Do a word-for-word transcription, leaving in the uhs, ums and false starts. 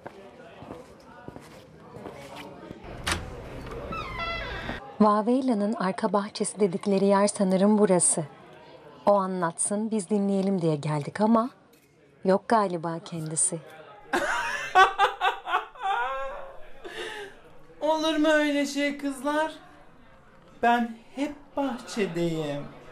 Vaveyla'nın arka bahçesi dedikleri yer sanırım burası. O anlatsın, biz dinleyelim diye geldik ama yok galiba kendisi. Olur mu öyle şey kızlar? Ben hep bahçedeyim.